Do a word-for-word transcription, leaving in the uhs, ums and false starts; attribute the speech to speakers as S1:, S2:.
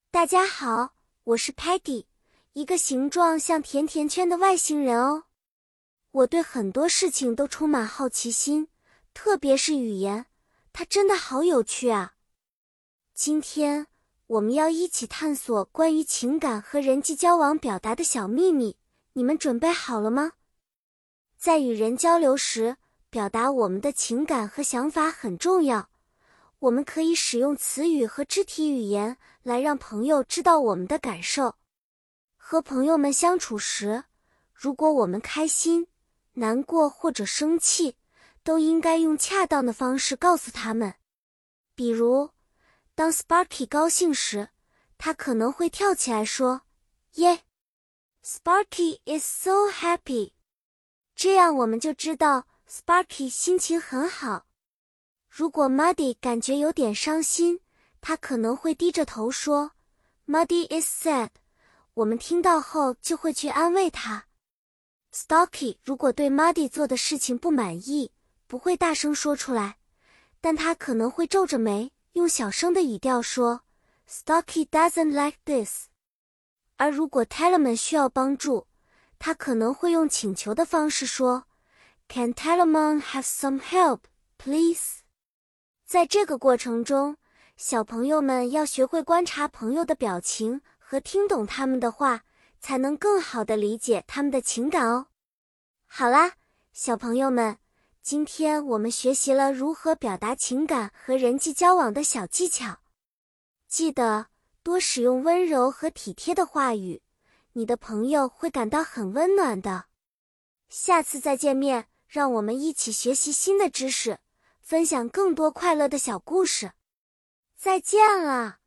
S1: 大家好，我是 Patty， 一个形状像甜甜圈的外星人哦。我对很多事情都充满好奇心，特别是语言，它真的好有趣啊。今天我们要一起探索关于情感和人际交往表达的小秘密，你们准备好了吗？在与人交流时，表达我们的情感和想法很重要。我们可以使用词语和肢体语言来让朋友知道我们的感受。和朋友们相处时，如果我们开心、难过或者生气，都应该用恰当的方式告诉他们。比如，当 Sparky 高兴时，他可能会跳起来说，耶 Sparky is so happy。这样我们就知道 Sparky 心情很好。如果 Muddy 感觉有点伤心，他可能会低着头说 Muddy is sad。 我们听到后就会去安慰他。Stocky 如果对 Muddy 做的事情不满意，不会大声说出来，但他可能会皱着眉，用小声的语调说 Stocky doesn't like this。 而如果 Telemon 需要帮助，他可能会用请求的方式说 Can Telemon have some help, please？在这个过程中，小朋友们要学会观察朋友的表情和听懂他们的话，才能更好地理解他们的情感哦。好啦，小朋友们，今天我们学习了如何表达情感和人际交往的小技巧。记得多使用温柔和体贴的话语，你的朋友会感到很温暖的。下次再见面，让我们一起学习新的知识，分享更多快乐的小故事。再见了。